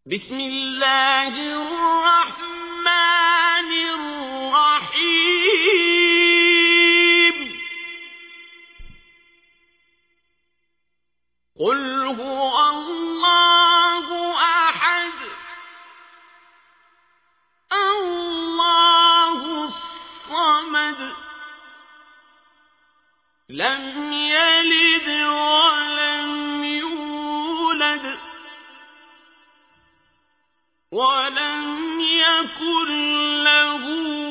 بسم الله الرحمن الرحيم قل هو الله أحد الله الصمد لم يلد ولم يولد ولم يكن له